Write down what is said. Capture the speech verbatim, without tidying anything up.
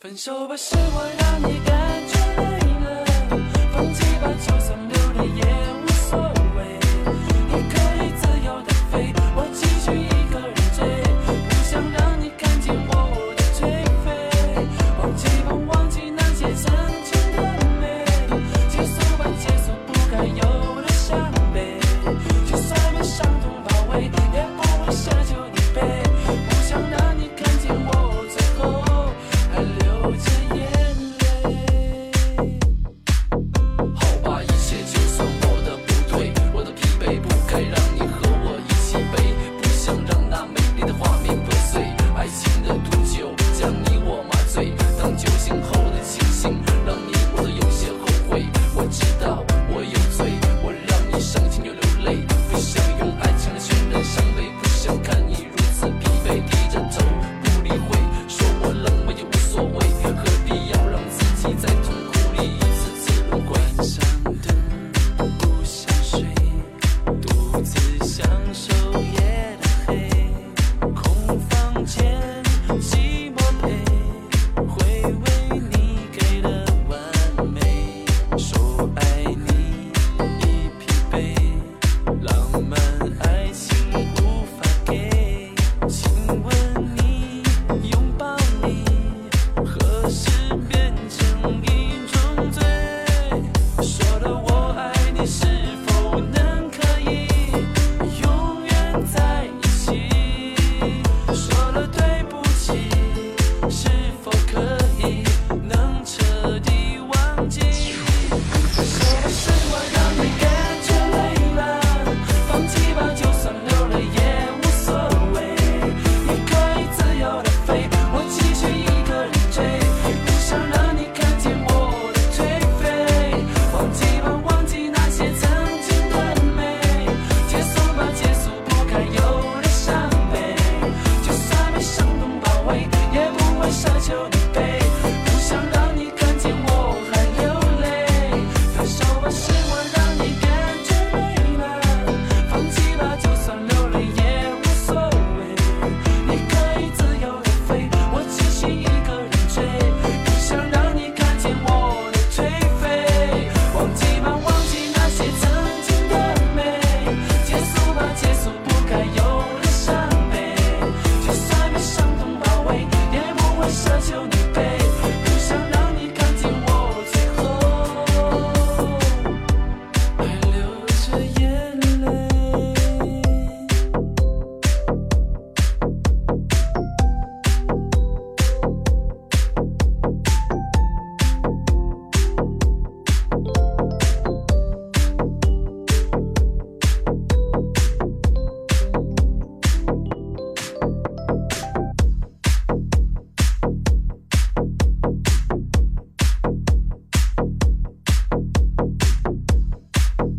分手吧，是我让你感觉累了，放弃吧，就算流泪也无所谓。你可以自由的飞，我继续一个人追，不想让你看见我的颓废。忘记吧，忘记那些曾经的美，结束吧，结束不该有的伤悲。就算被伤痛包围，也不会奢求你背，不想让你看见我最后还流着眼泪。好吧，一切就算我的不对，我的疲惫不该让你和我一起背，不想让那美丽的画面破碎，爱情的毒酒将你我麻醉，当酒醒后的清醒让你我都有些后悔。我知道我有罪，我让你伤心又流泪，不想用爱情来渲染伤悲，不想看你如此疲惫，低着头不理会，说我冷漠也无所谓，何必要让自己在痛苦里一次次轮回。晚上的不想睡，独自享受夜的黑，空房间寂寞陪，回味你给的完美，说爱你已疲惫，浪漫爱情无法给，亲吻你拥抱你，何时变成一种罪？说了我爱你，是否能可以永远在一起？说了对不起，是否可以能彻底忘记？说吧，是我让你感觉累了，放弃吧，就算流泪也无所谓。你可以自由的飞，我继续一个人追，不想让你看见我的颓废。忘记吧，忘记那些曾经的美，结束吧，结束不该有的伤悲。就算被伤痛包围，也不会奢求你背。